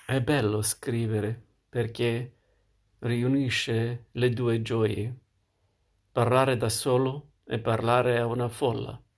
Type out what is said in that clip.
È bello scrivere perché riunisce le due gioie, parlare da solo e parlare a una folla.